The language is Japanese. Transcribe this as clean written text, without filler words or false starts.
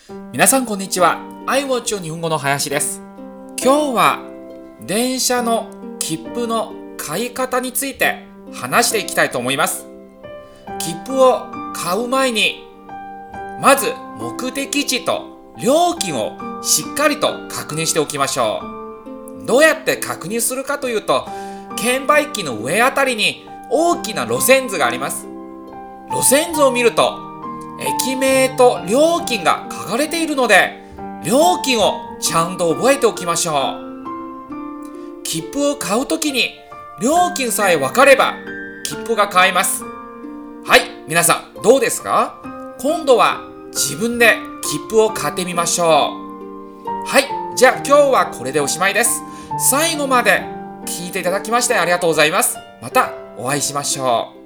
皆さんこんにちは。iWatch 日本語の林です。今日は電車の切符の買い方について話していきたいと思います。切符を買う前にまず目的地と料金をしっかりと確認しておきましょう。どうやって確認するかというと、券売機の上あたりに大きな路線図があります。路線図を見ると駅名と料金が書かれているので、料金をちゃんと覚えておきましょう。切符を買うときに料金さえ分かれば切符が買えます。はい、皆さんどうですか？今度は自分で切符を買ってみましょう。はい、じゃあ今日はこれでおしまいです。最後まで聞いていただきましてありがとうございます。またお会いしましょう。